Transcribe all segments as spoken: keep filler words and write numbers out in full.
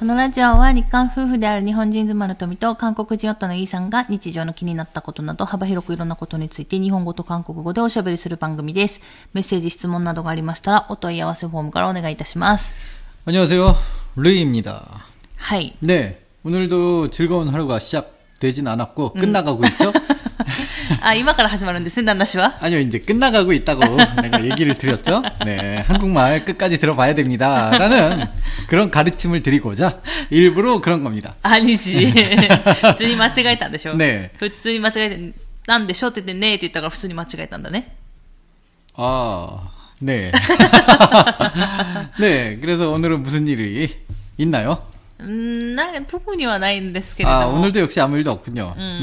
このラジオは日韓夫婦である日本人妻の富と韓国人夫のイーさんが日常の気になったことなど幅広くいろんなことについて日本語と韓国語でおしゃべりする番組です。メッセージ、質問などがありましたらお問い合わせフォームからお願いいたします。 안녕하세요. 루이입니다. はい。 네, 오늘도 즐거운 하루가 시작되진 않았고 음. 끝나가고 있죠? 아, 今から始まるんですね, 난나씨와? 아니요, 이제 끝나가고 있다고 내가 얘기를 드렸죠. 네, 한국말 끝까지 들어봐야 됩니다. 라는 그런 가르침을 드리고자 일부러 그런 겁니다. 아니지. 普通に間違えたんでしょ? 네. 普通に間違えたんでしょって言ってねって言ったから普通に間違えたんだね. 아, 네. 네, 그래서 오늘은 무슨 일이 있나요? 음, 난特にはないんですけれども. 아, 오늘도 역시 아무 일도 없군요. 음.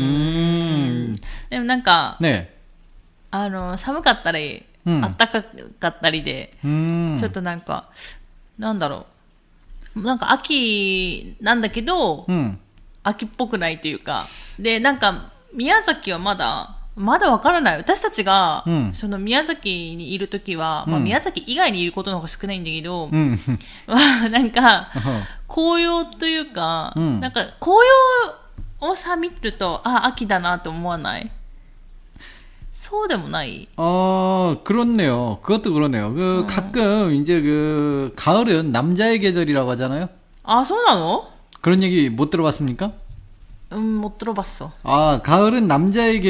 음. でもなんか, 네. あの寒かったり、うん、暖かかったりで、うん、ちょっとなんかなんだろう、なんか秋なんだけど、うん、秋っぽくないというか、でなんか宮崎はまだまだわからない。私たちが、うん、その宮崎にいるときは、うんまあ、宮崎以外にいることの方が少ないんだけど、うん、なんか紅葉というか、うん、なんか紅葉をさ見るとあ秋だなと思わない？そうでもない? 어, 그렇네요. 그것도 그러네요. 그, 어. 가끔, 이제 그, 가을은 남자의 계절이라고 하잖아요? 아, そうなの? 그런 얘기 못 들어봤습니까? 음, 못 들어봤어. 아, 가을은 남자의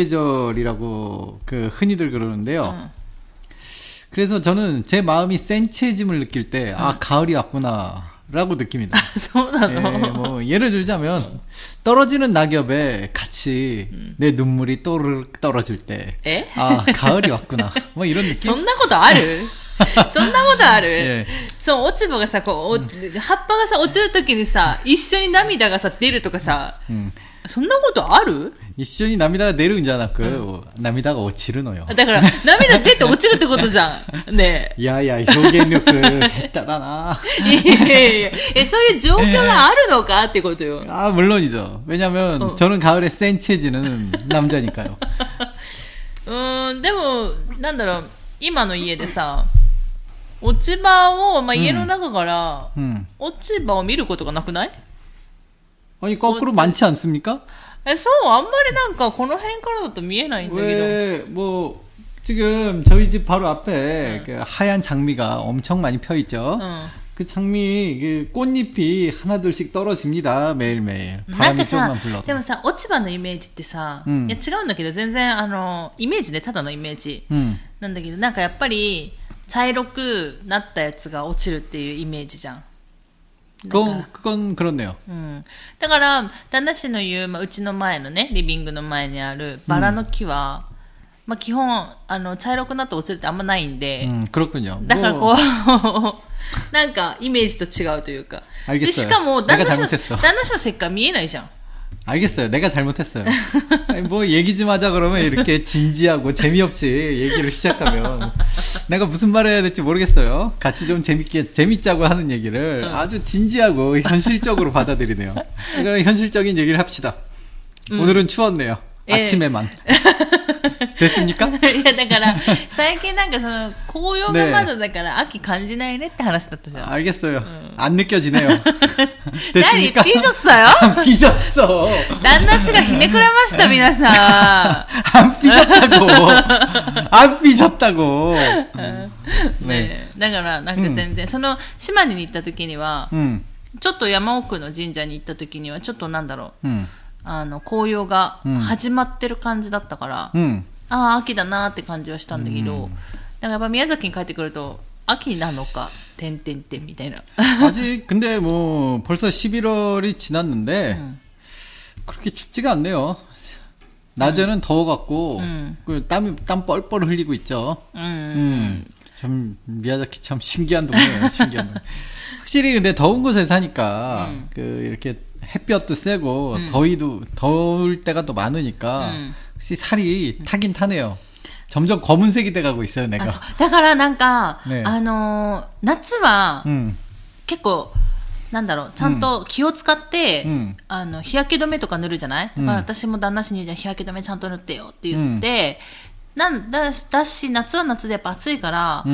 계절이라고, 그, 흔히들 그러는데요. 응. 그래서 저는 제 마음이 센치해짐을 느낄 때, 응. 아, 가을이 왔구나. 라고 느낍니다. 아, 예, 뭐 예를 들자면 떨어지는 낙엽에 같이 음. 내 눈물이 또르륵 떨어질 때, 에? 아 가을이 왔구나. 뭐 이런 느낌. そんなことある? そんなことある? 예. そう落ち葉がさこう、うん、葉っぱがさ落ちるときにさ一緒に涙がさ出るとかさ、うん、そんなことある? 一緒に涙が出るんじゃなく、うん、涙が落ちるのよ。 だから涙出て落ちるってことじゃん。ねえ。 いやいや表現力下手だな。 いやいやいや。えそういう状況があるのかってことよ。 あ물론이죠。왜냐면、うん、저는 가을에 센치해지는 남자니까요。 うーんでもなんだろう今の家でさ落ち葉をまあ家の中から、うん、落ち葉を見ることがなくない？ 아니 거꾸로 많지 않습니까? え、そうあんまりなんかこの辺からだと見えないんだけど. 왜 뭐 지금 저희 집 바로 앞에 응. 그 하얀 장미가 엄청 많이 펴 있죠. 응. 그 장미 그 꽃잎이 하나둘씩 떨어집니다. 매일매일. 바람이 조금만 불러도. でもさ、落ち葉のイメージってさ、いや違うんだけど全然あのイメージねただのイメージなんだけど、なんかやっぱり茶色くなったやつが落ちるっていうイメージじゃん。 그건, 그건 그렇네요. 음. だから旦那氏の言う、まあ、うちの前のねリビングの前にあるバラの木は、うんまあ、基本あの茶色くなって落ちるってあんまないんで、 うん、그렇군요. だからこうなんかイメージと違うというかでしかも旦那氏の旦那氏の石棺見えないじゃん 알겠어요. 내가 잘못했어요. 아니, 뭐 얘기 좀 하자 그러면 이렇게 진지하고 재미없이 얘기를 시작하면 내가 무슨 말을 해야 될지 모르겠어요. 같이 좀 재밌게 재밌자고 하는 얘기를 어. 아주 진지하고 현실적으로 받아들이네요. 그러니까 현실적인 얘기를 합시다. 음. 오늘은 추웠네요. 예. 아침에만. 됐습니까? いやだから最近なんかその紅葉がまだだから秋感じないねって話だったじゃん. 알겠어요. 음. 안 느껴지네요. 됐습니까? 삐졌어요? 안 삐졌어. 旦那氏がひねくれました皆さん. 안 삐졌다고. 안 삐졌다고. 네. だからなんか全然、うん、その島根に行った時には、うん、ちょっと山奥の神社に行った時にはちょっとなんだろう。うんあの紅葉が始まってる感じだったから、うん、ああ秋だなって感じはしたんだけど、うん、だからやっぱ宮崎に帰ってくると秋なのか点々点みたいな. 아직 근데 뭐 벌써 십일월이 지났는데 음. 그렇게 춥지가 않네요. 낮에는 음. 더워갖고 음. 그 땀이 땀 뻘뻘 흘리고 있죠. 음. 음. 참 미야자키 참 신기한 동네예요. 신기한 동네. 확실히 근데 더운 곳에 사니까 음. 그 이렇게 햇볕도 세고 음. 더위도 더울 때가 또 많으니까 음. 혹시 살이 타긴 타네요. 점점 검은색이 돼가고 있어요, 내가. だからなんかあの夏は結構なんだろうちゃんと気を使って、うん、あの日焼け止めとか塗るじゃない？だから私も旦那氏にじゃ日焼け止めちゃんと塗ってよって言って、うん、なんだだし夏は夏でやっぱ暑いから、うん、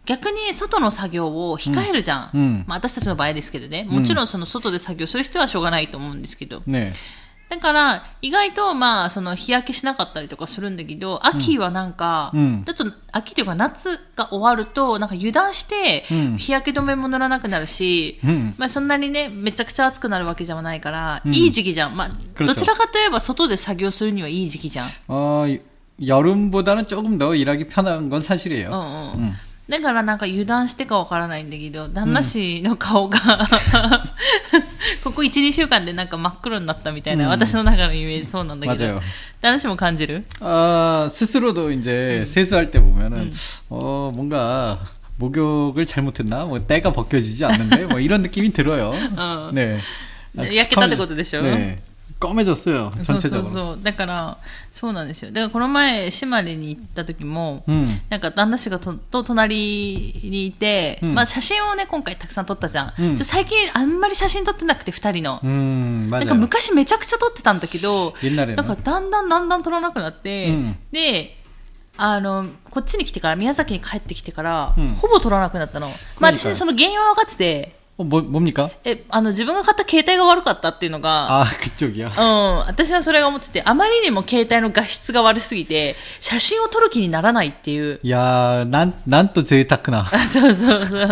逆に外の作業を控えるじゃん。うん、まあ、私たちの場合ですけどね。もちろんその外で作業する人はしょうがないと思うんですけど。ね、だから、意外と、まあ、その日焼けしなかったりとかするんだけど、秋はなんか、うん、ちょっと秋というか夏が終わると、なんか油断して、日焼け止めも塗らなくなるし、うん、まあそんなにね、めちゃくちゃ暑くなるわけじゃないから、うん、いい時期じゃん。まあ、どちらかといえば外で作業するにはいい時期じゃん。 ああ、여름보다는 조금 더 일하기 편한 건 사실이에요. 어, 어. 음. だからなんか油断してかわからないんだけど、旦那氏の顔が、うん、ここいち、にしゅうかんでなんか真っ黒になったみたいな、うん、私の中のイメージそうなんだけど、旦那氏も感じる? 아, 스스로도 이제 음. 세수할 때 보면은 음. 어, 뭔가 목욕을 잘못했나? 뭐 때가 벗겨지지 않는데 뭐 이런 느낌이 들어요. 어. 네. 焼けたってことでしょ? 네. 검해졌어요. 전체적으로. そうそうそう。だから、そうなんですよ。だからこの前、島根に行った時も、うん、なんか旦那氏がと、と隣にいて、うん、まあ写真をね、今回たくさん撮ったじゃん。うん、ちょ最近あんまり写真撮ってなくて、二人の。うん、なんか昔めちゃくちゃ撮ってたんだけど、なんかだんだんだんだん撮らなくなって、うん、で、あの、こっちに来てから、宮崎に帰ってきてから、うん、ほぼ撮らなくなったの。まあ私その原因は分かってて、 뭐、뭡니까? え、あの、自分が買った携帯が悪かったっていうのが、 あ、그쪽이야。 うん。私はそれが思ってて、あまりにも携帯の画質が悪すぎて、写真を撮る気にならないっていう。 いやー、なん、なんと贅沢な。 あ、そうそうそう。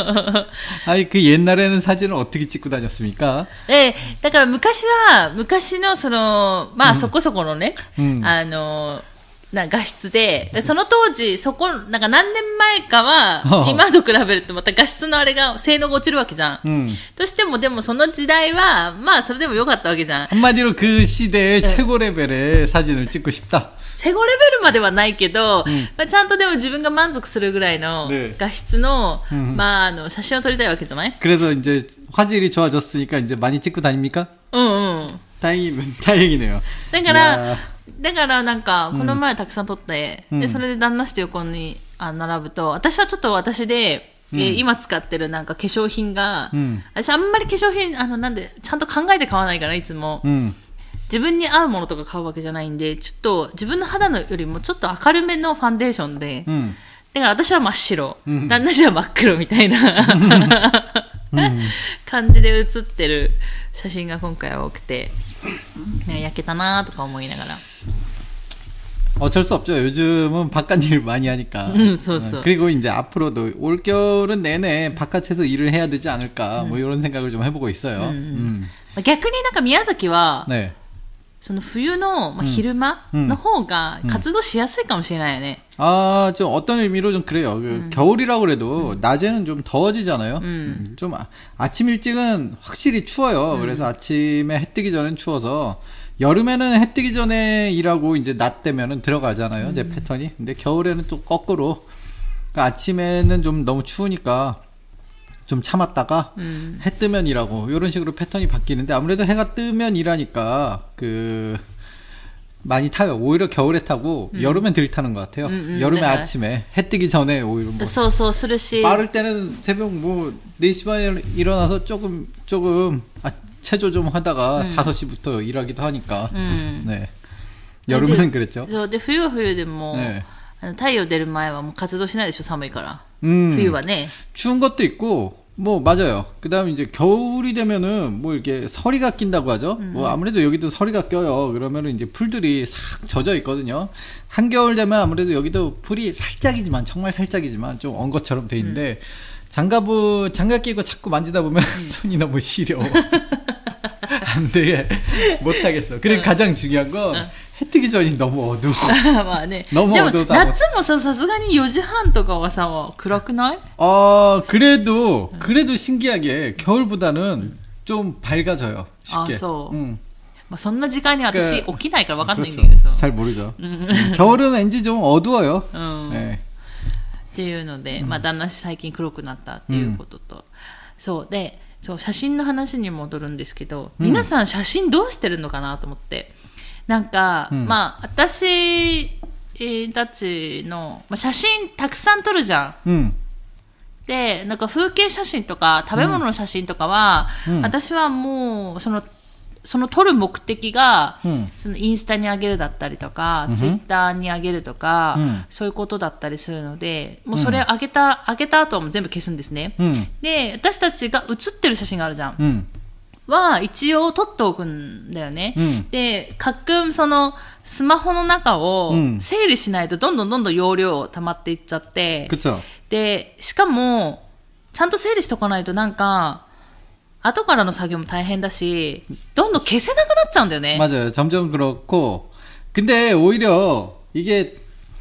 아니、그 옛날에는 사진을 어떻게 찍고 다녔습니까? え、だから昔は、昔のその、まあ、そこそこのね、うん、あの、な画質で、その当時、そこ、なんか何年前かは、今と比べるとまた画質のあれが、性能が落ちるわけじゃん。うん、としても、でもその時代は、まあそれでも良かったわけじゃん。 한마디로 그 시대의 최고 레벨의 사진을 찍고 싶다. 최고レベルまではないけど、うん、まあ、ちゃんとでも自分が満足するぐらいの画質の、네. まあ、あの、写真を撮りたいわけじゃない? 그래서 이제 화질이 좋아졌으니까 이제 많이 찍고 다닙니까? 응, 응. 다행이, 다행이네요. だから、だからなんか、この前たくさん撮って、うん、で、それで旦那氏と横にあ並ぶと、私はちょっと私で、うん、えー、今使ってるなんか化粧品が、うん、私あんまり化粧品、あの、なんで、ちゃんと考えて買わないから、いつも。うん、自分に合うものとか買うわけじゃないんで、ちょっと自分の肌のよりもちょっと明るめのファンデーションで、うん、だから私は真っ白、うん、旦那氏は真っ黒みたいな感じで写ってる写真が今回は多くて、ね、焼けたなとか思いながら。 어쩔 수 없죠. 요즘은 바깥 일을 많이 하니까. 음, 소소. 그리고 이제 앞으로도 올겨울은 내내 바깥에서 일을 해야 되지 않을까. 음. 뭐 이런 생각을 좀 해보고 있어요. 음. 음. 逆になんか宮崎は 네. その冬の、まあ、昼間の方が活動しやすいかもしれないよね。 아, 좀 어떤 의미로 좀 그래요. 그 음. 겨울이라고 그래도 음. 낮에는 좀 더워지잖아요. 음. 좀 아, 아침 일찍은 확실히 추워요. 음. 그래서 아침에 해 뜨기 전엔 추워서 여름에는 해 뜨기 전에 일하고 이제 낮 되면은 들어가잖아요. 음. 이제 패턴이. 근데 겨울에는 또 거꾸로. 그러니까 아침에는 좀 너무 추우니까 좀 참았다가 음. 해 뜨면 일하고 이런 식으로 패턴이 바뀌는데 아무래도 해가 뜨면 일하니까 그 많이 타요. 오히려 겨울에 타고 음. 여름엔 덜 타는 것 같아요. 음, 음, 여름에 네. 아침에 해 뜨기 전에 오히려 뭐 소소 스르시 빠를 때는 새벽 뭐 네 시 반에 일어나서 조금 조금 아, 체조 좀 하다가 음. 다섯 시부터 일하기도 하니까. 음. 네. 여름에는 그랬죠. そうで冬は冬でも 네. 太陽出る前はもう活動しないでしょ寒いから 음, 冬はね 추운 것도 있고 뭐 맞아요. 그다음에 이제 겨울이 되면은 뭐 이렇게 서리가 낀다고 하죠. 음. 뭐 아무래도 여기도 서리가 껴요. 그러면은 이제 풀들이 싹 젖어 있거든요. 한겨울 되면 아무래도 여기도 풀이 살짝이지만 정말 살짝이지만 좀 언 것처럼 돼 있는데 음. 장갑을 장갑 끼고 자꾸 만지다 보면 음. 손이 너무 시려. 안 돼. 못 하겠어. 그리고 가장 중요한 건 해 뜨기 전이 너무 어두워. まあね. 너무 어두워서. 夏もさ、さすがによじはんとかはさ、暗くない? 어, 그래도 그래도 신기하게 겨울보다는 좀 밝아져요. 쉽게. 아,そう. 응. まあそんな時間に私起きないからわかんないんだけどさ. 잘 모르죠. 음, 겨울은 왠지 좀 어두워요. 음. 네. っていうので、まあ旦那最近黒くなったっていうことと、うん、そうで、そう写真の話に戻るんですけど、うん、皆さん写真どうしてるのかなと思って、なんか、うん、まあ私たちの、まあ、写真たくさん撮るじゃん。うん、で、なんか風景写真とか食べ物の写真とかは、うん、私はもうそのその撮る目的が、うん、そのインスタに上げるだったりとか、うん、ツイッターに上げるとか、うん、そういうことだったりするので、もうそれ上げた、上げた後はもう全部消すんですね。うん、で、私たちが写ってる写真があるじゃん。うん、は、一応撮っておくんだよね。うん、で、かっくん、その、スマホの中を整理しないとどんどんどんどん容量溜まっていっちゃって、 うん、 で、しかも、ちゃんと整理しとかないとなんか、後からの作業も大変だし、どんどん消せなくなっちゃうんだよね。 맞아요. 점점 그렇고. 근데 오히려 이게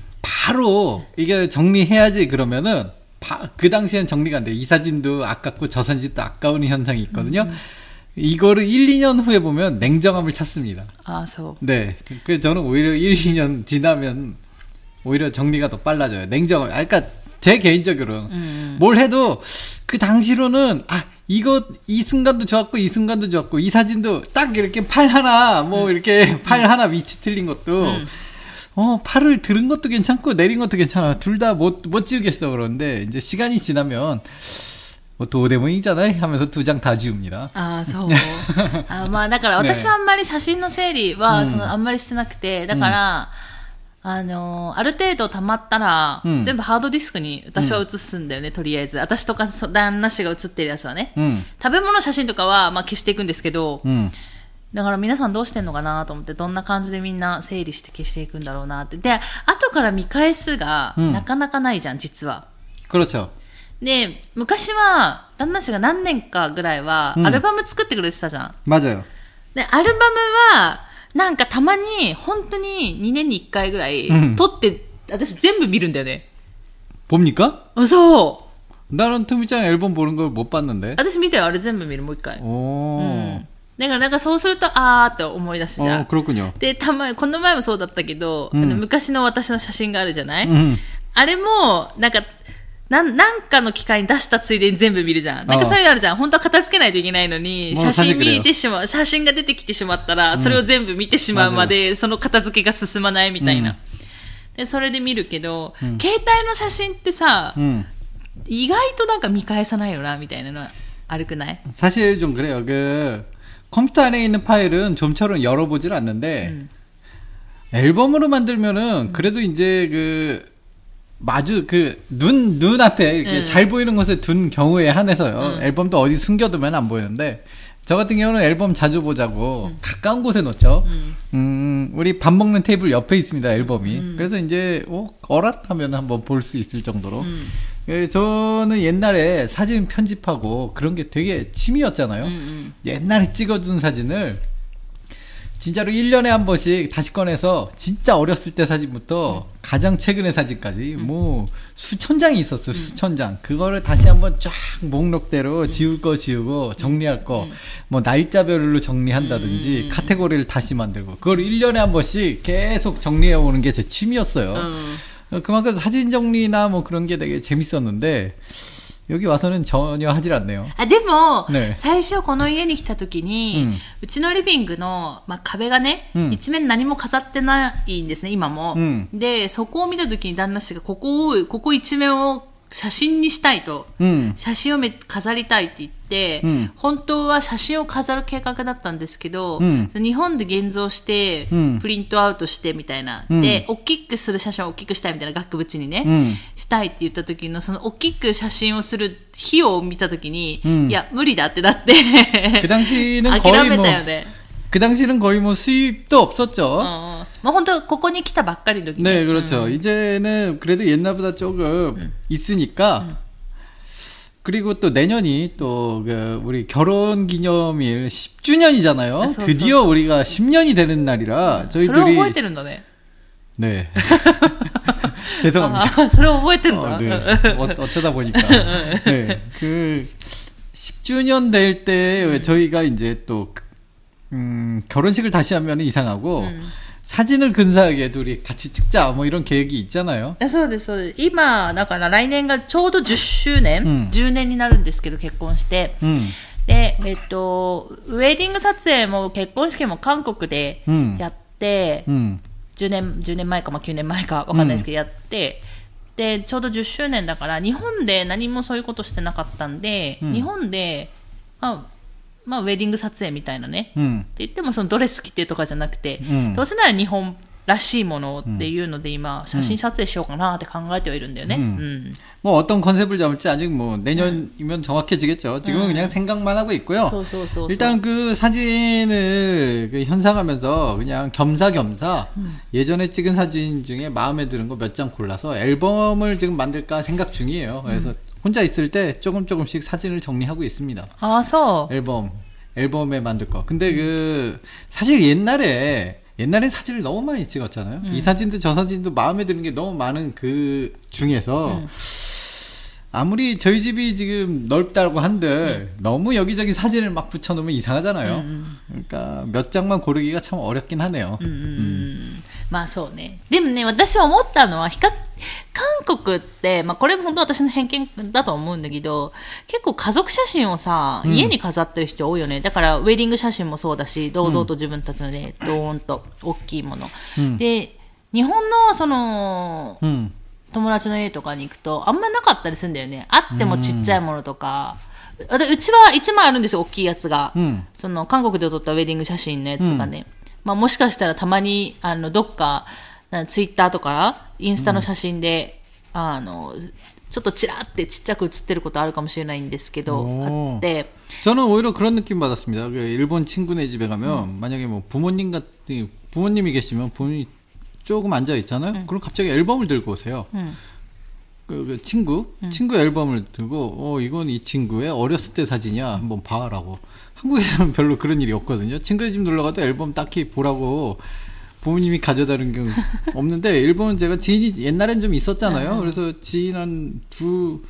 바로 이게 정리해야지 그러면은 바, 그 당시엔 정리가 안 돼. 이 사진도 아깝고 저 사진도 아까운 현상이 있거든요. 음. 이거를 일, 이 년 후에 보면 냉정함을 찾습니다. 아, 소. 네. 그래서 저는 오히려 일, 이 년 지나면 오히려 정리가 더 빨라져요. 냉정함. 아, 그러니까 제 개인적으로는 음. 뭘 해도 그 당시로는 아 이거 이 순간도 좋았고 이 순간도 좋았고 이 사진도 딱 이렇게 팔 하나 뭐 음. 이렇게 팔 음. 하나 위치 틀린 것도 음. 어 팔을 들은 것도 괜찮고 내린 것도 괜찮아 둘 다 못 못 지우겠어 그러는데 이제 시간이 지나면 뭐 도대문이잖아요 하면서 두 장 다 지웁니다. 아, そう。あ、まあだから私はあんまり写真の整理はそのあんまりしてなくて、だから。あのー、ある程度溜まったら、うん、全部ハードディスクに私は写すんだよね、うん、とりあえず。私とか旦那氏が写ってるやつはね。うん、食べ物写真とかは、まあ、消していくんですけど、うん、だから皆さんどうしてんのかなと思って、どんな感じでみんな整理して消していくんだろうなって。で、後から見返すが、なかなかないじゃん、実は。 그렇죠。 で、昔は、旦那氏が何年かぐらいは、アルバム作ってくれてたじゃん。 맞아요。 で、アルバムは、なんかたまに本当ににねんにいっかいぐらい撮って、うん、私全部見るんだよね。 봅니까? そう。 나는 토미짱 앨범 보는 걸 못 봤는데. 私見たよ。あれ全部見るもう一回。 おー。うん。 だからなんかそうするとあーって思い出すじゃん。 あー、그렇군요。 で、たまにこの前もそうだったけど、うん、あの昔の私の写真があるじゃない？うん、あれもなんか。な、なんかの機会に出したついでに全部見るじゃん。なんかそういうのあるじゃん。本当は片付けないといけないのに、写真見てしまう、写真が出てきてしまったら、それを全部見てしまうまで、その片付けが進まないみたいな。うん、で、それで見るけど、うん、携帯の写真ってさ、うん、意外となんか見返さないよな、みたいなのはあるくない？ 사실 좀 그래요. 그, 컴퓨터 안에 있는 파일은 좀처럼 열어보질 않는데, 음. 앨범으로 만들면은, 그래도 이제 그, 마주 그 눈 눈 앞에 이렇게 음. 잘 보이는 곳에 둔 경우에 한해서요. 음. 앨범도 어디 숨겨두면 안 보이는데 저 같은 경우는 앨범 자주 보자고 음. 가까운 곳에 놓죠. 음. 음, 우리 밥 먹는 테이블 옆에 있습니다 앨범이. 음. 그래서 이제 어, 어랏하면 한번 볼 수 있을 정도로. 음. 예, 저는 옛날에 사진 편집하고 그런 게 되게 취미였잖아요. 음. 옛날에 찍어준 사진을 진짜로 일 년에 한 번씩 다시 꺼내서 진짜 어렸을 때 사진부터 음. 가장 최근의 사진까지 음. 뭐 수천 장이 있었어요. 음. 수천 장. 그거를 다시 한번 쫙 목록대로 음. 지울 거 지우고 정리할 거 뭐 음. 날짜별로 정리한다든지 음. 카테고리를 다시 만들고 그걸 일 년에 한 번씩 계속 정리해 오는 게 제 취미였어요. 음. 그만큼 사진 정리나 뭐 그런 게 되게 재밌었는데 여기 와서는 전혀 하질 않네요. あ、でも、ね、最初この家に来た時に、うん、うちのリビングの、まあ、壁がね、うん、一面何も飾ってないんですね、今も。うん、で、そこを見た時に旦那氏がここを、ここ一面を写真にしたいと、うん、写真をめ飾りたいって言って、うん、本当は写真を飾る計画だったんですけど、うん、日本で現像して、うん、プリントアウトしてみたいな、うん、で、大きくする写真を大きくしたいみたいな額縁にね、うん、したいって言った時の、その大きく写真をする費用を見た時に、うん、いや、無理だってなって、 그 당시는 거의 뭐 그 당시는 거의 뭐 수입도 없었죠. 어, 뭐 혼자 거기来たばっかりの時 네, 그렇죠. 음. 이제는 그래도 옛날보다 조금 음. 있으니까. 음. 그리고 또 내년이 또 그 우리 결혼 기념일 십 주년이잖아요. 아, 드디어 우리가 십 년이 되는 날이라 저희들이. それを覚えてるんだね. 네. 죄송합니다. 아, それを覚えてるんだ. 어, 네. 어, 어쩌다 보니까. 네. 그 십 주년 될 때 음. 저희가 이제 또 음, 결혼식을 다시 하면 이상하고, 음. 사진을 근사하게 둘이 같이 찍자, 뭐 이런 계획이 있잖아요. そうです、そうです。今、だから来年がちょうどじゅっしゅうねん、うん、じゅうねんになるんですけど、結婚して。うん、で、えっと、ウェディング撮影も結婚式も韓国でやって、うん、じゅうねん、じゅうねんまえか、まあ、きゅうねんまえかわかんないですけど、やって、で、ちょうどじゅっしゅうねんだから、日本で何もそういうことしてなかったんで、うん、日本で、まあ、 まあ、ウェディング撮影みたいなね。うん、って言っても、そのドレス着てとかじゃなくて、うん、どうせなら日本らしいものっていうので今、写真撮影しようかなって考えてはいるんだよね。 음. 음. 뭐 어떤 컨셉을 잡을지 아직 뭐 내년이면 정확해지겠죠. 지금은 음. 그냥 생각만 하고 있고요. 소, 소, 소, 일단 그 사진을 그 현상하면서 그냥 겸사겸사 음. 예전에 찍은 사진 중에 마음에 드는 거 몇 장 골라서 앨범을 지금 만들까 생각 중이에요. 그래서 음. 혼자 있을 때 조금 조금씩 사진을 정리하고 있습니다. 아, 서 앨범 앨범에 만들 거. 근데 그 사실 옛날에 옛날엔 사진을 너무 많이 찍었잖아요. 음. 이 사진도 저 사진도 마음에 드는 게 너무 많은 그 중에서 음. 아무리 저희 집이 지금 넓다고 한들 음. 너무 여기저기 사진을 막 붙여놓으면 이상하잖아요. 음. 그러니까 몇 장만 고르기가 참 어렵긴 하네요. 음. 음. まあそうね。でもね、私は思ったのは、韓国って、まあこれも本当私の偏見だと思うんだけど、結構家族写真をさ、家に飾ってる人多いよね。うん、だからウェディング写真もそうだし、堂々と自分たちのね、ドーンと大きいもの。うん、で、日本のその、うん、友達の家とかに行くと、あんまなかったりするんだよね。あってもちっちゃいものとか。うん、うちはいちまいあるんですよ、大きいやつが。うん、その韓国で撮ったウェディング写真のやつがね。うんまあもしかしたらたまに、あの、どっか、ツイッターとか、インスタの写真で、うん、あの、ちょっとチラーってちっちゃく写ってることあるかもしれないんですけど、あって。 저는 오히려 그런 느낌 받았습니다. 일본 친구네 집에 가면, 음. 만약에 뭐 부모님 같은, 부모님이 계시면 부모님이 조금 앉아 있잖아요? 음. 그럼 갑자기 앨범을 들고 오세요. 음. 그, 그 친구? 음. 친구 앨범을 들고, 어, 이건 이 친구의 어렸을 때 사진이야. 한번 봐라고. 한국에서는 별로 그런 일이 없거든요. 친구네 집 놀러가도 앨범 딱히 보라고 부모님이 가져다는 경우 없는데, 일본은 제가 지인이 옛날엔 좀 있었잖아요. 그래서 지인 한 두,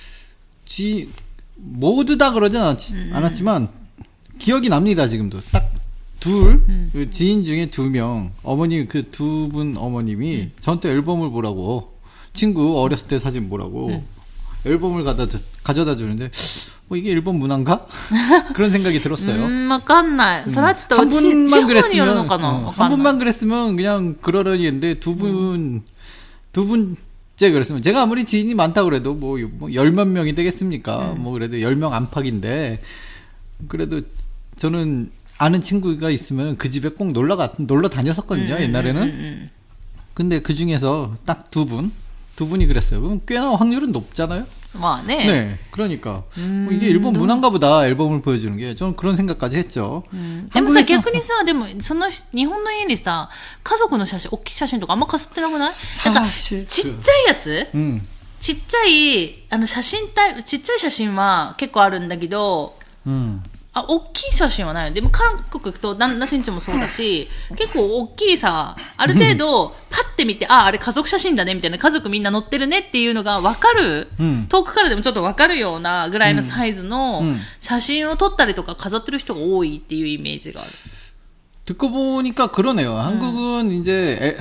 지, 모두 다 그러진 않았지, 음. 않았지만, 기억이 납니다, 지금도. 딱 둘, 음. 그 지인 중에 두 명, 어머님, 그 두 분 어머님이 음. 저한테 앨범을 보라고, 친구 어렸을 때 사진 보라고, 음. 앨범을 가다, 가져다 주는데, 뭐 이게 일본 문화인가? 그런 생각이 들었어요. 음, わかんない. 음, 한 분만 그랬으면, 어, 한 분만 그랬으면 그냥 그러려니 했는데 두 분, 음. 두 분째 그랬으면, 제가 아무리 지인이 많다 그래도 뭐, 뭐 열몇 명이 되겠습니까? 음. 뭐 그래도 열 명 안팎인데, 그래도 저는 아는 친구가 있으면 그 집에 꼭 놀러 가, 놀러 다녔었거든요, 음, 옛날에는. 음, 음. 근데 그 중에서 딱 두 분, 두 분이 그랬어요. 그럼 꽤나 확률은 높잖아요? 뭐, 네. 네, 그러니까. 음, 뭐 이게 일본 문화인가 보다, 앨범을 보여주는 게. 저는 그런 생각까지 했죠. 음. でもさ、逆にさ、でも、その、日本の家にさ、家族の写真、大きい写真とかあんま飾ってなくない？なんか、ちっちゃいやつ、うん、ちっちゃい、あの、写真タイプ、ちっちゃい写真は結構あるんだけど、うん。あ、大きい写真はない。でも韓国と旦那新地もそうだし、結構大きいさ、ある程度、パッて見て、あ、あれ家族写真だね、みたいな、家族みんな載ってるねっていうのが分かる、うん、遠くからでもちょっと分かるようなぐらいのサイズの写真を撮ったりとか飾ってる人が多いっていうイメージがある。 듣고 보니까 그러네요. 한국은 음. 이제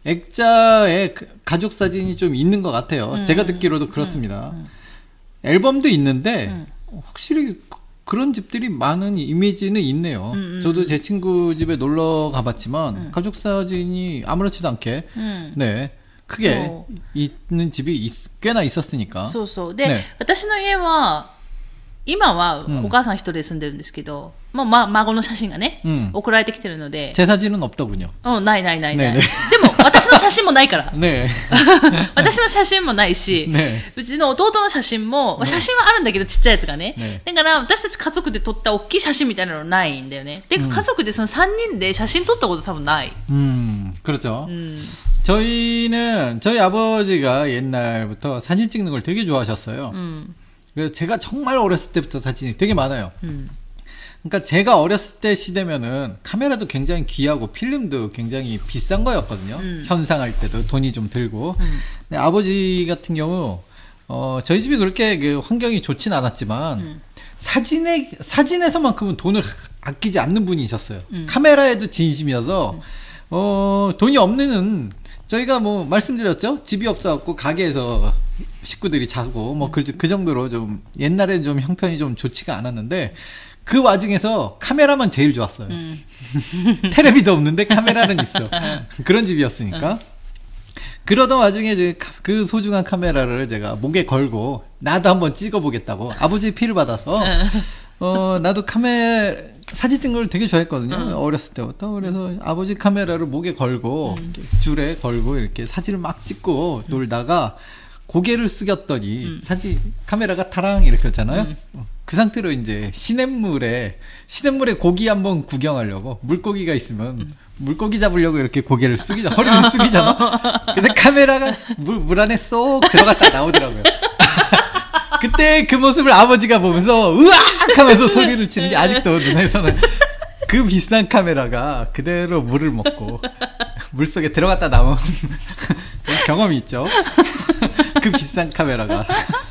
액자에 가족 사진이 좀 있는 것 같아요. 음. 제가 듣기로도 그렇습니다. 음. 음. 앨범도 있는데, 음. 확실히 그런 집들이 많은 이미지는 있네요. 음, 음. 저도 제 친구 집에 놀러 가봤지만 음. 가족 사진이 아무렇지도 않게 음. 네 크게 so. 있는 집이 있, 꽤나 있었으니까. そうそう。で、ね、私の家は今はお母さん一人で住んでるんですけど、まあ、ま、孫の写真がね、うん、送られてきてるので。 제 사진은 없더군요. うん、ないないないない。ねね、でも、私の写真もないから。ね私の写真もないし、ね、うちの弟の写真も、写真はあるんだけど、ちっちゃいやつがね。ねだから、私たち家族で撮った大きい写真みたいなのないんだよね。で、うん、家族でそのさんにんで写真撮ったこと多分ない。 うん、그렇죠。 うん。 저희는, 저희 아버지가 옛날부터 사진 찍는 걸 되게 좋아하셨어요. 음. 그래서 제가 정말 어렸을 때부터 사진이 되게 많아요. 음. 그러니까 제가 어렸을 때 시대면은 카메라도 굉장히 귀하고 필름도 굉장히 비싼 거였거든요. 음. 현상할 때도 돈이 좀 들고. 음. 근데 아버지 같은 경우, 어, 저희 집이 그렇게 그 환경이 좋진 않았지만, 음. 사진에, 사진에서만큼은 돈을 아끼지 않는 분이셨어요. 음. 카메라에도 진심이어서, 음. 어, 돈이 없는, 저희가 뭐 말씀드렸죠? 집이 없어갖고 가게에서 식구들이 자고 뭐 그 그 정도로 좀 옛날에는 좀 형편이 좀 좋지가 않았는데 그 와중에서 카메라만 제일 좋았어요. 음. 텔레비도 없는데 카메라는 있어. 그런 집이었으니까. 그러던 와중에 이제 그 소중한 카메라를 제가 목에 걸고 나도 한번 찍어보겠다고 아버지의 피를 받아서 어, 나도 카메라, 사진 찍는 걸 되게 좋아했거든요. 응. 어렸을 때부터. 그래서 아버지 카메라를 목에 걸고, 응. 줄에 걸고, 이렇게 사진을 막 찍고 응. 놀다가, 고개를 숙였더니, 응. 사진, 카메라가 타랑 이렇게 했잖아요. 응. 그 상태로 이제, 시냇물에, 시냇물에 고기 한번 구경하려고, 물고기가 있으면, 응. 물고기 잡으려고 이렇게 고개를 숙이자, 허리를 숙이잖아. 근데 카메라가 물, 물 안에 쏙 들어갔다 나오더라고요. 그때 그 모습을 아버지가 보면서 으악 하면서 소리를 치는 게 아직도 눈에서는 그 비싼 카메라가 그대로 물을 먹고 물속에 들어갔다 나온 경험이 있죠. 그 비싼 카메라가.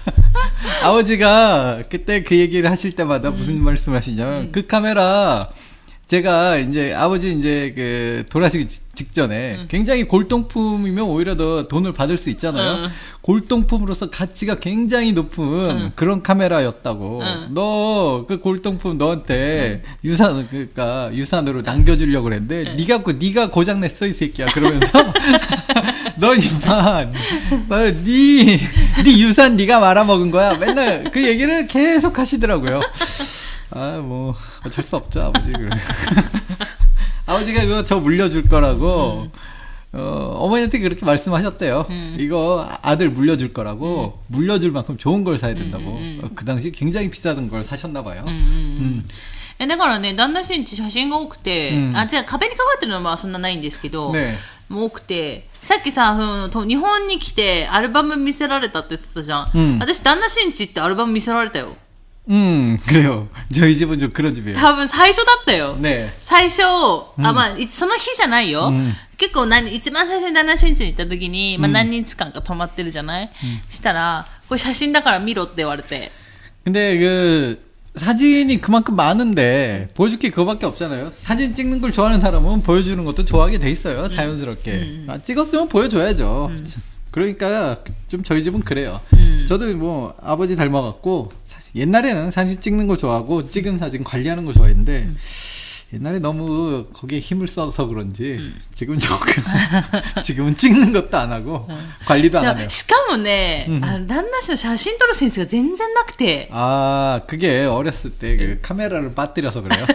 아버지가 그때 그 얘기를 하실 때마다 무슨 음. 말씀 하시냐면 음. 그 카메라 제가 이제 아버지 이제 그 돌아가시기 직전에 응. 굉장히 골동품이면 오히려 더 돈을 받을 수 있잖아요. 응. 골동품으로서 가치가 굉장히 높은 응. 그런 카메라였다고. 응. 너 그 골동품 너한테 응. 유산 그러니까 유산으로 남겨주려고 그랬는데 응. 네가 그 네가 고장 냈어 이 새끼야. 그러면서 너 이만 네네 네 유산 네가 말아먹은 거야. 맨날 그 얘기를 계속 하시더라고요. 아, 뭐, 어쩔 수 없죠, 아버지. 아버지가 그거 저 물려줄 거라고, 음. 어, 어머니한테 그렇게 말씀하셨대요. 음. 이거 아들 물려줄 거라고, 음. 물려줄 만큼 좋은 걸 사야 된다고. 음, 음, 음. 그 당시 굉장히 비싸던 걸 사셨나봐요. 음, 음, 음. えだからね、旦那氏んち写真が多くて、うん、あ、じゃあ壁にかかってるのはそんなないんですけど、ね、もう多くて、さっきさ、日本に来てアルバム見せられたって言ってたじゃん。うん、私、旦那氏んちってアルバム見せられたよ。 음, 그래요. 저희 집은 좀 그런 집이에요. 多分最初だったよ。 네. 最初、うん、あ、まあ、その日じゃないよ。うん、結構何、一番最初に旦那新地に行った時に、まあ何日間か泊まってるじゃない、うん、したら、これ写真だから見ろって言われて。 근데 그, 사진이 그만큼 많은데, 보여줄 게 그거밖에 없잖아요. 사진 찍는 걸 좋아하는 사람은 보여주는 것도 좋아하게 돼 있어요. 자연스럽게. 음. 아, 찍었으면 보여줘야죠. 음. 그러니까 좀 저희 집은 그래요. 음. 저도 뭐 아버지 닮아갖고 사실 옛날에는 사진 찍는 거 좋아하고 찍은 사진 관리하는 거 좋아했는데 음. 옛날에 너무 거기에 힘을 써서 그런지 음. 지금은 조금 지금은 찍는 것도 안 하고 음. 관리도 안 하네요. しかもね、 음. 旦那氏の写真撮るセンスが全然なくて 아, 그게 어렸을 때 그 카메라를 빠뜨려서 그래요.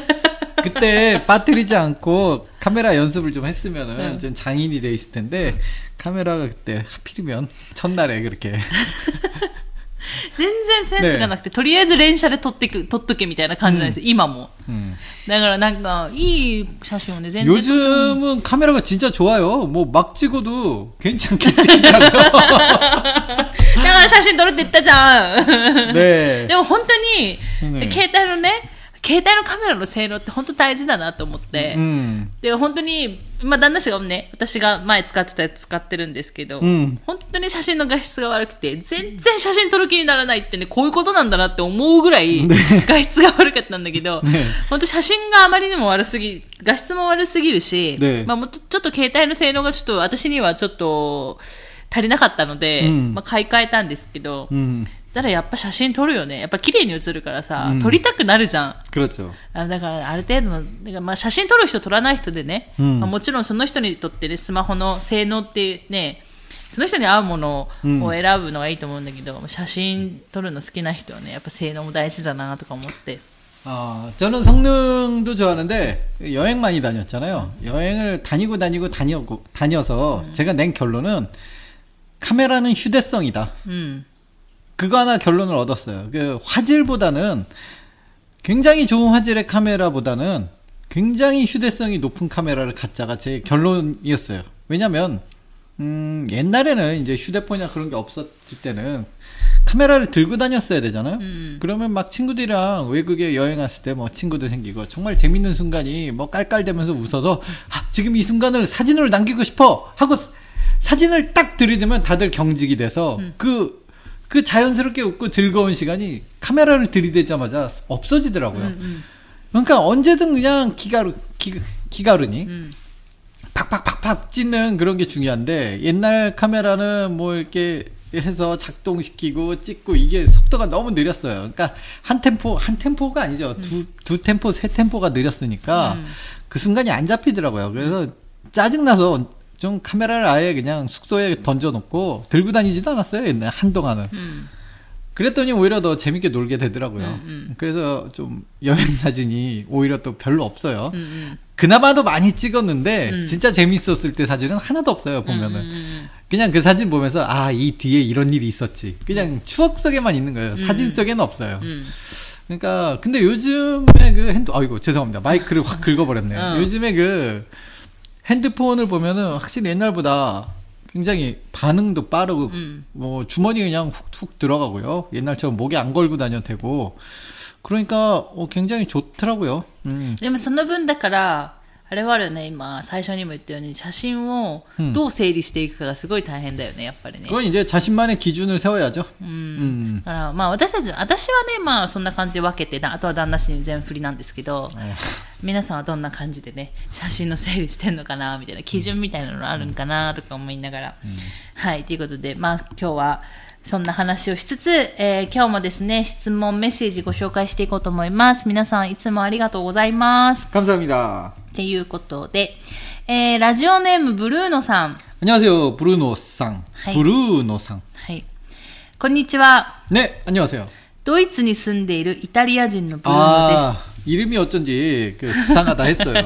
그때 빠뜨리지 않고 카메라 연습을 좀 했으면은 응. 좀 장인이 돼 있을 텐데 카메라가 그때 하필이면 첫날에 그렇게 全然センスがなくて、とりあえず連写で撮ってく、撮っとけみたいな感じなんですよ、今も。だからなんか、いい写真をね、全然。 요즘은 카메라가 진짜 좋아요. 뭐 막 찍어도 괜찮게 찍히더라고요. だから写真撮るって言ったじゃん。ね。でも本当に、携帯のね、携帯のカメラの性能って本当大事だなと思って、うん、で本当に、まあ、旦那氏がね、私が前使ってたやつ使ってるんですけど、うん、本当に写真の画質が悪くて全然写真撮る気にならないってね、こういうことなんだなって思うぐらい画質が悪かったんだけど、ね、本当写真があまりにも悪すぎ、画質も悪すぎるし、ね、まあ、もっとちょっと携帯の性能がちょっと私にはちょっと足りなかったので、うん、まあ、買い替えたんですけど、うん、だからやっぱ写真撮るよね。やっぱ綺麗に写るからさ、うん、撮りたくなるじゃん。 그렇죠。 あ、だからある程度の、だからまあ写真撮る人撮らない人でね、うん、まあ、もちろんその人にとってね、スマホの性能ってね、その人に合うものを選ぶのがいいと思うんだけど、うん、写真撮るの好きな人はね、やっぱ性能も大事だなとか思って。 아, 저는 성능도 좋아하는데 여행 많이 다녔잖아요. 여행을 다니고 다니고 다녀고 다녀서 음. 제가 낸 결론은 카메라는 휴대성이다. 음. 그거 하나 결론을 얻었어요. 그 화질보다는 굉장히 좋은 화질의 카메라보다는 굉장히 휴대성이 높은 카메라를 갖자가 제 결론이었어요. 왜냐면 음, 옛날에는 이제 휴대폰이나 그런 게 없었을 때는 카메라를 들고 다녔어야 되잖아요. 음. 그러면 막 친구들이랑 외국에 여행 갔을 때 뭐 친구도 생기고 정말 재밌는 순간이 뭐 깔깔대면서 웃어서 아, 지금 이 순간을 사진으로 남기고 싶어 하고 사진을 딱 들이대면 다들 경직이 돼서 음. 그, 그 자연스럽게 웃고 즐거운 시간이 카메라를 들이대자마자 없어지더라고요. 음, 음. 그러니까 언제든 그냥 기가루, 기, 기가루니 음. 팍팍팍팍 찍는 그런 게 중요한데 옛날 카메라는 뭐 이렇게 해서 작동시키고 찍고 이게 속도가 너무 느렸어요. 그러니까 한 템포, 한 템포가 아니죠. 음. 두, 두 템포, 세 템포가 느렸으니까 음. 그 순간이 안 잡히더라고요. 그래서 짜증나서 좀 카메라를 아예 그냥 숙소에 던져놓고 들고 다니지도 않았어요. 옛날 한동안은. 음. 그랬더니 오히려 더 재밌게 놀게 되더라고요. 음, 음. 그래서 좀 여행 사진이 오히려 또 별로 없어요. 음, 음. 그나마도 많이 찍었는데 음. 진짜 재밌었을 때 사진은 하나도 없어요. 보면은 음. 그냥 그 사진 보면서 아, 이 뒤에 이런 일이 있었지. 그냥 음. 추억 속에만 있는 거예요. 음. 사진 속에는 없어요. 음. 그러니까 근데 요즘에 그 핸드 아이고 죄송합니다. 마이크를 확 긁어버렸네요. 어. 요즘에 그 핸드폰을 보면은 확실히 옛날보다 굉장히 반응도 빠르고 음. 뭐 주머니 그냥 훅훅 들어가고요. 옛날처럼 목에 안 걸고 다녀도 되고 그러니까 어, 굉장히 좋더라고요. 음. でもその分だからあれはあるね、今最初にも言ったように写真をどう整理していくかがすごい大変だよね、やっぱりね。 그건 이제 자신만의 기준을 세워야죠. 음. 음. だからまあ私たち私はねまあそんな感じで分けてあとは旦那氏に全振りなんですけど、皆さんはどんな感じでね写真の整理してんのかなみたいな基準みたいなのあるんかなとか思いながら、うん、はいということでまあ今日はそんな話をしつつ、えー、今日もですね質問メッセージご紹介していこうと思います。皆さんいつもありがとうございます。 감사합니다。 っていうことで、えー、ラジオネームブルーノさん。 안녕하세요ブルーノさん。はい、ブルーノさん。 はい。こんにちは。 ね、안녕하세요。 ドイツに住んでいるイタリア人のブルーノです。 이름이 어쩐지 그 수상하다 했어요.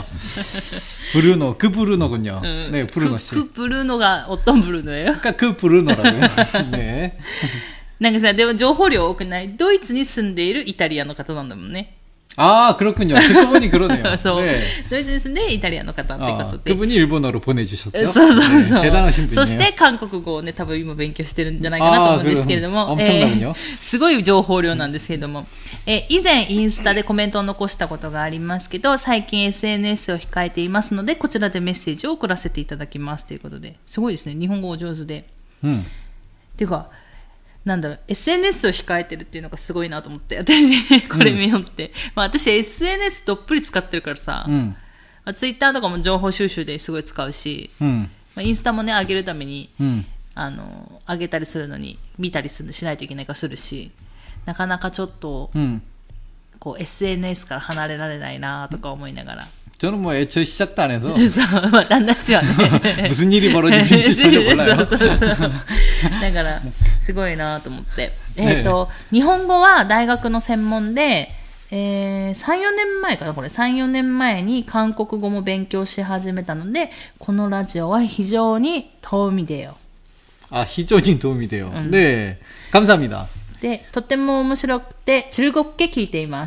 브루노, 그 브루노군요. 음, 네, 브루노 씨. 그, 그 브루노가 어떤 브루노예요? 그러니까 그 브루노라고요. 네. なんかさ、でも情報量多くない？ドイツに住んでいるイタリアの方なんだもんね。 아, 그렇군요. 듣고 보니 그러네요. 네. 도이츠에서 이탈리아의 方ってことで 그분이 일본어로 보내주셨죠. 네, 대단하신 분이에요. そして韓国語をね多分今勉強してるんじゃないかなと思うんですけれども、 엄청나군요. すごい情報量なんですけれども、えー、以前インスタでコメントを残したことがありますけど、最近 エスエヌエス を控えていますのでこちらでメッセージを送らせていただきますということで、すごいですね、日本語お上手で、うん、っていうかなんだろう エスエヌエス を控えてるっていうのがすごいなと思って私これ見よって、うんまあ、私 エスエヌエス どっぷり使ってるからさ、うんまあ、ツイッターとかも情報収集ですごい使うし、うんまあ、インスタもね上げるために、うん、あの上げたりするのに見たりするしないといけないからするし、なかなかちょっと、うん、こう エスエヌエス から離れられないなとか思いながら、 저는 뭐 애초에 시작도 안 해서 旦那氏はね 무슨 일이 벌어지는지 전혀 몰라요. そうそうそうだからすごいなと思って、えっと日本語は大学の専門で、えー、さん、よねんまえかなこれさん、よねんまえに韓国語も勉強し始めたのでこのラジオは非常に도움이 돼요。 あ、非常に도움이 돼요。 ね、감사합니다。 で、とても面白くて즐겁게聞いています。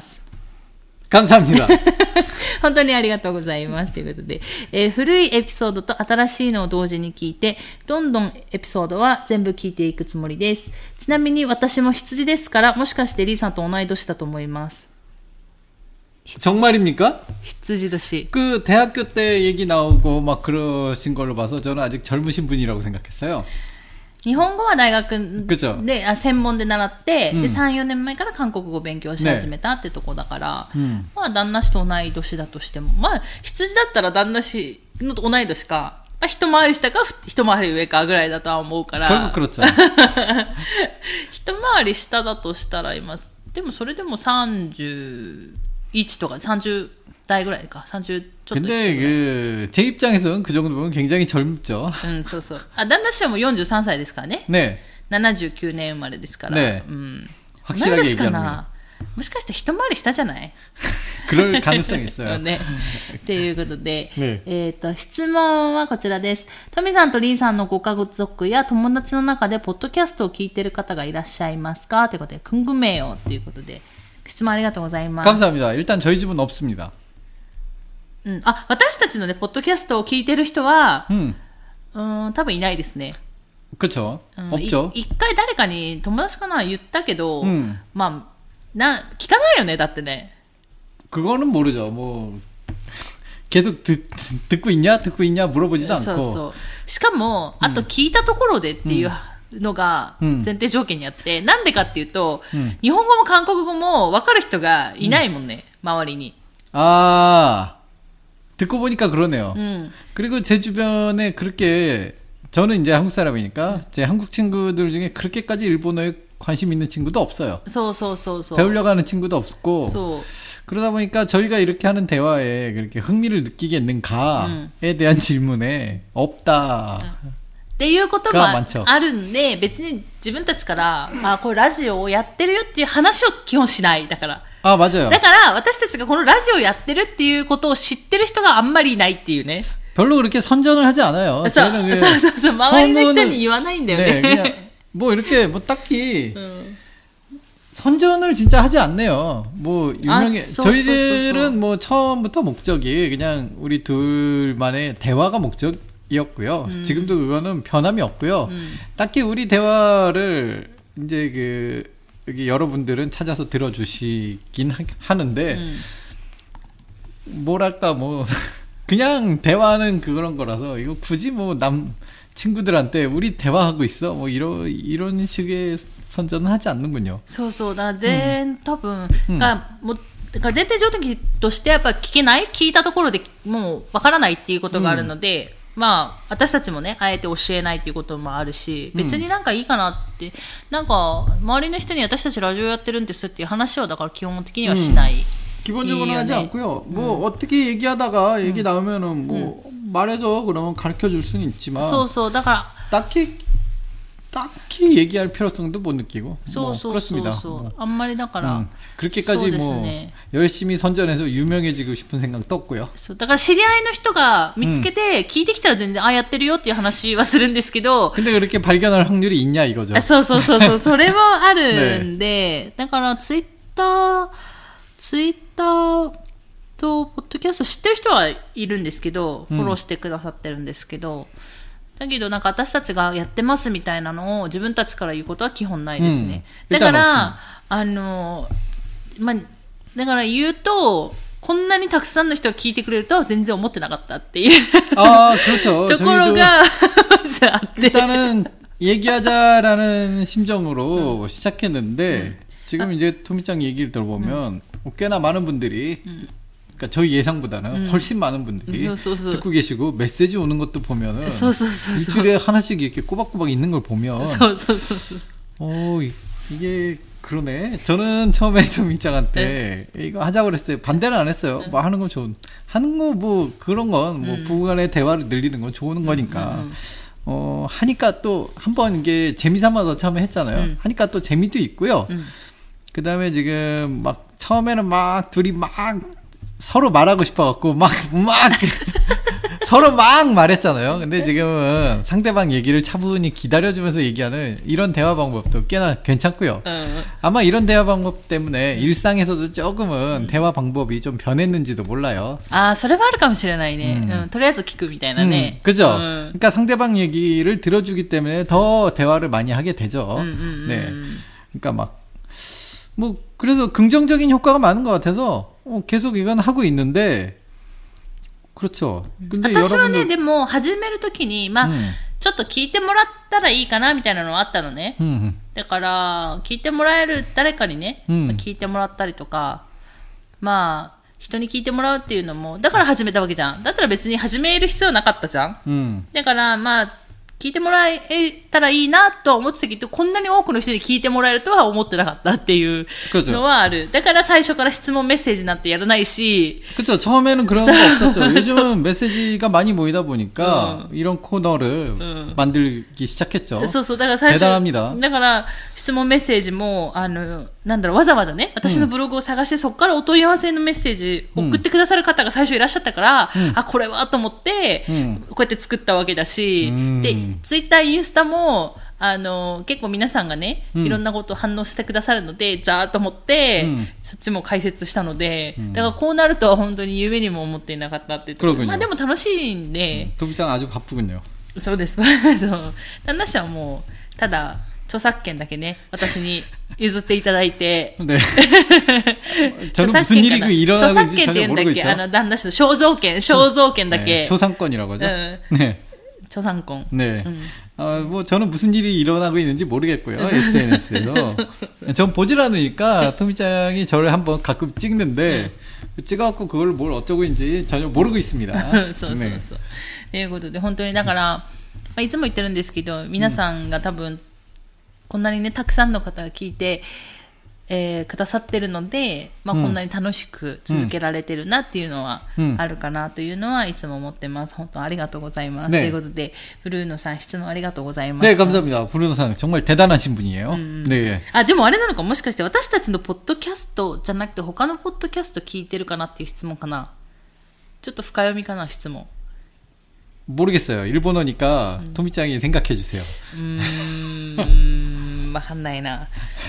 감사합니다. 本当にありがとうございますということで、えー、古いエピソードと新しいのを同時に聞いてどんどんエピソードは全部聞いていくつもりです。ちなみに私も羊ですからもしかしてリーさんと同い年だと思います。 정말입니까? 羊年. 그 대학교 때 얘기 나오고 막 그러신 걸로 봐서 저는 아직 젊으신 분이라고 생각했어요. 日本語は大学であ専門で習って、うん、でさん、よねんまえから韓国語を勉強し始めたってとこだから、ねうん、まあ旦那氏と同い年だとしても、まあ羊だったら旦那氏の同い年か、まあ、一回り下か一回り上かぐらいだとは思うから、一回り下だとしたら今でもそれでもさんじゅういちとかさんじゅう代ぐらいか삼십ちょっと 근데 그 제 입장에서는 그 정도 보면 굉장히 젊죠. 음, そうそう. 아,旦那氏はもうよんじゅうさんさいですからね. 네. ななじゅうきゅうねん生まれですから. 네. 음. 확실하게 얘기하면. もしかして一回り下じゃない? 그럴 가능성이 있어요. ね。ということで、ね、えっと質問はこちらです。トミさんとリーさんのご家族や友達の中でポッドキャストを聞いている方がいらっしゃいますかということで、궁금해요ということで質問ありがとうございます。 감사합니다. 일단 저희 집은 없습니다. うん、あ、私たちのねポッドキャストを聞いてる人は、うん、うん多分いないですね。 그렇죠. 없죠. 一回誰かに友達かな言ったけど、うん、まあな聞かないよねだってね。 그거는 모르죠. 뭐 계속 듣, 듣고 있냐 듣고 있냐 물어보지도 않고. そうそう。しかもあと聞いたところでっていうのが前提条件にあって、うん、なんでかっていうと、うん、日本語も韓国語も分かる人がいないもんね、うん、周りに。 아 듣고 보니까 그러네요. 음. 그리고 제 주변에 그렇게 저는 이제 한국 사람이니까 음. 제 한국 친구들 중에 그렇게까지 일본어에 관심 있는 친구도 없어요. so, so, so, so. 배우려고 하는 친구도 없고 so. 그러다 보니까 저희가 이렇게 하는 대화에 그렇게 흥미를 느끼겠는가에 음. 대한 질문에 없다. 음. っていうこともあるんで、別に自分たちから、あ、これラジオをやってるよっていう話を基本しない。だから。 あ、맞아요。 だから、私たちがこのラジオやってるっていうことを知ってる人があんまりいないっていうね。 별로 그렇게 선전을 하지 않아요. そうそうそうそう、周りの人に言わないんだよね。 네, 그냥 뭐 이렇게 뭐 딱히 음. 선전을 진짜 하지 않네요. 뭐 유명해. 아, 저희들은 뭐 처음부터 목적이 그냥 우리 둘만의 대화가 목적이었고요. 음. 지금도 그거는 변함이 없고요. 음. 딱히 우리 대화를 이제 그 여기 여러분들은 찾아서 들어주시긴 하, 하는데 음. 뭐랄까 뭐 그냥 대화는 그런 거라서 이거 굳이 뭐 남 친구들한테 우리 대화하고 있어 뭐 이런 이런 식의 선전은 하지 않는군요. そうそうだ全多分がもうだから前提条件としてやっぱ聞けない聞いたところでもうわからないっていうことがあるので、うん、まあ私たちもねあえて教えないっていうこともあるし、別になんかいいかなって、うん、なんか周りの人に私たちラジオやってるんですっていう話はだから基本的にはしない。うん 기본적으로 하지 않고요. 뭐 음. 어떻게 얘기하다가 얘기 음. 나오면은 뭐 음. 말해줘 그러면 가르쳐 줄 수는 있지만. 소소. 그러니까 딱히 딱히 얘기할 필요성도 못 느끼고. 뭐 그렇습니다. 뭐. 아무리 그러니까 음. 그렇게까지 뭐 열심히 선전해서 유명해지고 싶은 생각도 없고요. だから知り合いの人が見つけて聞いてきたら全然あやってるよっていう話はするんですけど。 근데 그렇게 발견할 확률이 있냐 이거죠. そうそうそうそう。それもあるんで、だからツイッターツイッターとポッドキャスト知ってる人はいるんですけど、フォローしてくださってるんですけど、うん、だけどなんか私たちがやってますみたいなのを自分たちから言うことは基本ないですね。うん、だからあのまあだから言うとこんなにたくさんの人が聞いてくれるとは全然思ってなかったっていうあ그렇죠 ところがあって。 일단은 얘기하자라는 심정으로 음. 시작했는데. 음. 지금 아. 이제 토미짱 얘기를 들어보면 음. 꽤나 많은 분들이 음. 그러니까 저희 예상보다는 음. 훨씬 많은 분들이 소소소. 듣고 계시고 메시지 오는 것도 보면은 소소소소. 일주일에 하나씩 이렇게 꼬박꼬박 있는 걸 보면 소소소소. 어 이게 그러네. 저는 처음에 토미짱한테 네. 이거 하자고 그랬어요. 반대는 안 했어요. 네. 뭐 하는 건 좋은 하는 거 뭐 그런 건 뭐 음. 부부간의 대화를 늘리는 건 좋은 거니까. 음. 어 하니까 또 한번 이게 재미삼아서 처음에 했잖아요. 음. 하니까 또 재미도 있고요. 음. 그 다음에 지금 막 처음에는 막 둘이 막 서로 말하고 싶어갖고 막 막 서로 막 말했잖아요. 근데 지금은 상대방 얘기를 차분히 기다려주면서 얘기하는 이런 대화 방법도 꽤나 괜찮고요. 아마 이런 대화 방법 때문에 일상에서도 조금은 음. 대화 방법이 좀 변했는지도 몰라요. 아, それはあるかもしれないね. 음. 음, とりあえず聞くみたいなね. 음, 그죠? 음. 그러니까 상대방 얘기를 들어주기 때문에 더 대화를 많이 하게 되죠. 음, 음, 네. 그러니까 막 뭐 그래서 긍정적인 효과가 많은 것 같아서 어, 계속 이건 하고 있는데 그렇죠. 근데 私はね、でも始めるときにまあ、うん、ちょっと聞いてもらったらいいかなみたいなのはあったのね。うんうん、だから聞いてもらえる誰かにね、うん、聞いてもらったりとか、まあ人に聞いてもらうっていうのもだから始めたわけじゃん。だったら別に始める必要なかったじゃん。うん、だからまあ。聞いてもらえたらいいなと思ってたけど、こんなに多くの人に聞いてもらえるとは思ってなかったっていうのはある。だから最初から質問メッセージなんてやらないし。 그렇죠. 처음에는 그런 거 없었죠. 요즘은 메시지가 많이 모이다 보니까 음. 이런 코너를 음. 만들기 시작했죠. そうそう。だから最初 대단합니다. だから質問メッセージもあのなんだろうわざわざね、私のブログを探して、うん、そこからお問い合わせのメッセージ送ってくださる方が最初いらっしゃったから、うん、あこれはと思って、うん、こうやって作ったわけだし、うん、でツイッターインスタもあの結構皆さんがね、うん、いろんなことを反応してくださるのでざーっと思って、うん、そっちも解説したので、うん、だからこうなるとは本当に夢にも思っていなかったっていうところ。まあでも楽しいんで。 トミちゃん아주 바쁘군요。 そうです。そう。旦那氏はもうただ著作権だけね私に譲っていただいて。 ね。著作権かな。著作権って言うんだっけ、あの旦那氏の肖像権、肖像権だけ。 초상권이라고 하죠. 네. 초상권. 네. 음. 어, 뭐 저는 무슨 일이 일어나고 있는지 모르겠고요. 에스엔에스에서. 전 보질 않으니까 토미짱이 저를 한번 가끔 찍는데 찍어갖고 그걸 뭘 어쩌고인지 전혀 모르고 있습니다. そうそうそう。ということで本当にだから、まあ、いつも言ってるんですけど皆さんが多分こんなにねたくさんの方が聞いてえー、くださってるので、まあ、こんなに楽しく続けられてるなっていうのはあるかなというのはいつも思ってます。本当ありがとうございます。네ということで、ブルーノさん質問ありがとうございました。 네감사합니다。ブルーノさん정말대단하신분이에요。네。 あ、でもあれなのか、もしかして私たちのポッドキャストじゃなくて他のポッドキャスト聞いてるかなっていう質問かな。ちょっと深読みかな、質問。 모르겠어요. 일본어니까 음. 토미짱이 생각해 주세요. 음, わかんないな。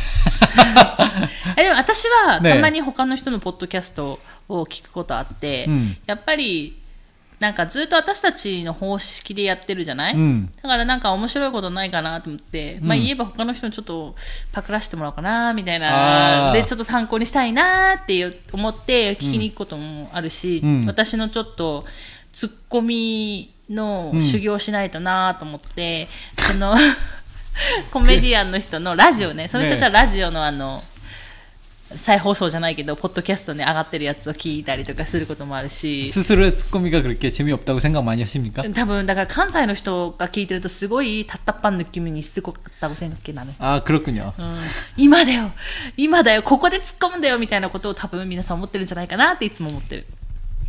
でも私はたまに他の人のポッドキャストを聞くことあって、ね、やっぱりなんかずっと私たちの方式でやってるじゃない、うん、だからなんか面白いことないかなと思って、うん、まあ言えば他の人にちょっとパクらせてもらおうかなみたいなでちょっと参考にしたいなって思って聞きに行くこともあるし、うん、私のちょっとツッコミの修行しないとなと思って、うん、そのコメディアンの人のラジオね、その人たちはラジオのあの再放送じゃないけどポッドキャストに上がってるやつを聞いたりとかすることもあるし、 ススルツッコミが그렇게 재미없다고 생각 많이 하십니까? 多分だから関西の人が聞いてるとすごい답답한 느낌이 있을 것 같다고 생각해 나는. 아 그렇군요. うん、今だよ今だよここで突っ込むんだよみたいなことを多分皆さん思ってるんじゃないかなっていつも思ってる。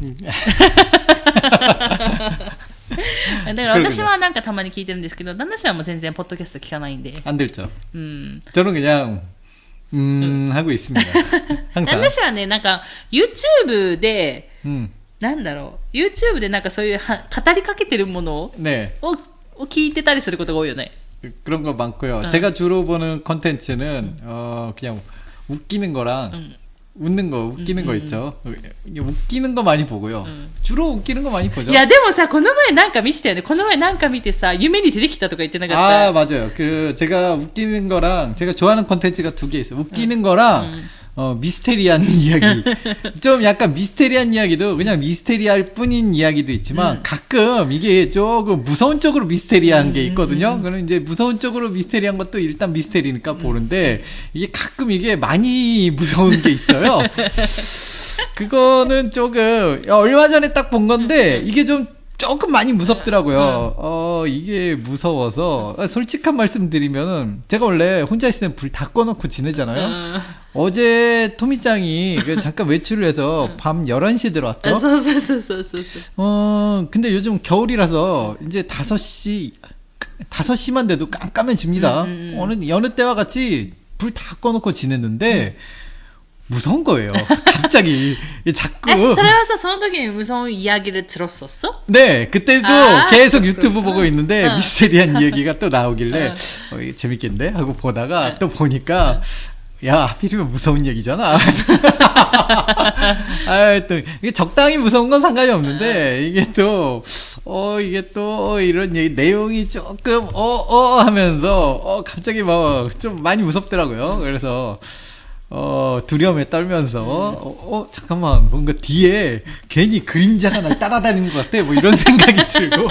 だから私はなんかたまに聞いてるんですけど、旦那氏はもう全然ポッドキャスト聞かないんで。 안 들죠. 음. 저는 그냥 음, 음. 하고 있습니다. 항상. 旦那氏はね、なんか YouTube で、うん、なんだろう、YouTube でなんかそういうは語りかけてるものを、ね、を, を聞いてたりすることが多いよね。 그런 거 많고요. 응. 제가 주로 보는 콘텐츠는 응. 어, 그냥 웃기는 거랑 응. 웃는 거, 웃기는 음, 거 있죠. 음. 웃기는 거 많이 보고요. 음. 주로 웃기는 거 많이 보죠. いやでもさ、この前なんか見てたよね。この前なんか見てさ、夢に出てきたとか言ってなかった？ 아, 맞아요. 그 제가 웃기는 거랑 제가 좋아하는 콘텐츠가 두 개 있어요. 웃기는 음. 거랑 음. 어, 미스테리한 이야기. 좀 약간 미스테리한 이야기도 그냥 미스테리할 뿐인 이야기도 있지만 음. 가끔 이게 조금 무서운 쪽으로 미스테리한 음. 게 있거든요. 그럼 이제 무서운 쪽으로 미스테리한 것도 일단 미스테리니까 음. 보는데 이게 가끔 이게 많이 무서운 게 있어요. 그거는 조금 얼마 전에 딱 본 건데 이게 좀 조금 많이 무섭더라고요. 어, 이게 무서워서, 솔직한 말씀 드리면은, 제가 원래 혼자 있을 땐 불 다 꺼놓고 지내잖아요? 어제 토미짱이 잠깐 외출을 해서 밤 열한 시 들어왔죠? 어, 근데 요즘 겨울이라서 이제 다섯 시, 다섯 시만 돼도 깜깜해집니다. 음, 음, 음. 어느, 여느 때와 같이 불 다 꺼놓고 지냈는데, 음. 무서운 거예요. 갑자기 자꾸. それはさ、その時に무서운 이야기를 들었었어? 네, 그때도 아, 계속 유튜브 보고 있는데 어. 미스테리한 이야기가 또 나오길래 어. 어, 이게 재밌겠네 하고 보다가 어. 또 보니까 야, 하필이면 무서운 얘기잖아. 아, 또 이게 적당히 무서운 건 상관이 없는데 이게 또 어, 이게 또 이런 얘기 내용이 조금 어, 어 하면서 어, 갑자기 뭐 좀 많이 무섭더라고요. 그래서 어, 두려움에 떨면서, 음. 어, 어, 잠깐만, 뭔가 뒤에 괜히 그림자가 날 따라다니는 것 같아. 뭐 이런 생각이 들고.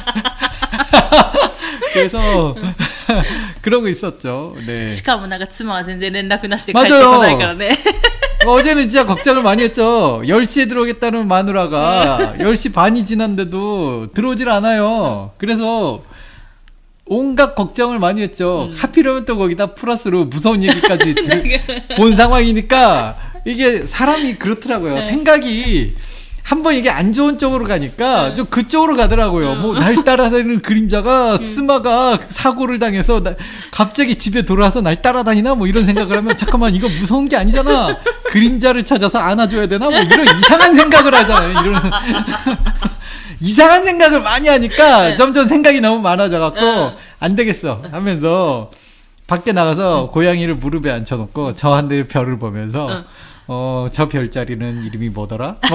그래서, 그러고 있었죠. 네. しかもなんか妻は全然連絡なしで帰ってこないからね. 어제는 진짜 걱정을 많이 했죠. 열 시에 들어오겠다는 마누라가 열 시 반이 지났는데도 들어오질 않아요. 그래서, 온갖 걱정을 많이 했죠. 음. 하필이면 또 거기다 플러스로 무서운 얘기까지 본 상황이니까 이게 사람이 그렇더라고요. 네. 생각이 한번 이게 안 좋은 쪽으로 가니까 네. 좀 그쪽으로 가더라고요. 뭐 날 따라다니는 그림자가 스마가 사고를 당해서 나, 갑자기 집에 돌아와서 날 따라다니나 뭐 이런 생각을 하면 잠깐만 이거 무서운 게 아니잖아. 그림자를 찾아서 안아줘야 되나 뭐 이런 이상한 생각을 하잖아요. 이런 이상한 생각을 많이 하니까 네. 점점 생각이 너무 많아져갖고 어. 안 되겠어 하면서 밖에 나가서 응. 고양이를 무릎에 앉혀놓고 저한테 별을 보면서 응. 어, 저 별자리는 이름이 뭐더라? 뭐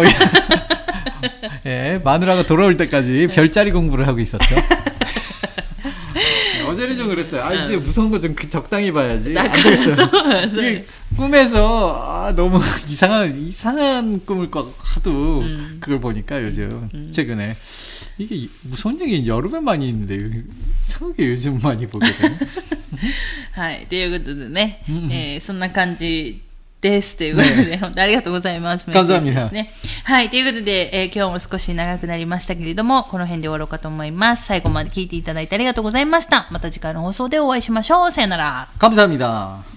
예, 마누라가 돌아올 때까지 별자리 공부를 하고 있었죠. 어제는 좀 그랬어요. 아, 이제 무서운 거 좀 적당히 봐야지. 안 되겠어요. 이게 꿈에서 아, 너무 이상한 이상한 꿈을 하도 음. 그걸 보니까 요즘 음. 최근에 이게 무서운 얘기 여름에 많이 있는데 이상하게 요즘 많이 보게 되네. はい、ということでね、えー、そんな感じですということで、ね、本当にありがとうございます。 감사합니다。 ね、はい、ということで、えー、今日も少し長くなりましたけれども、この辺で終わろうかと思います。最後まで聞いていただいてありがとうございました。また次回の放送でお会いしましょう。さよなら。 감사합니다。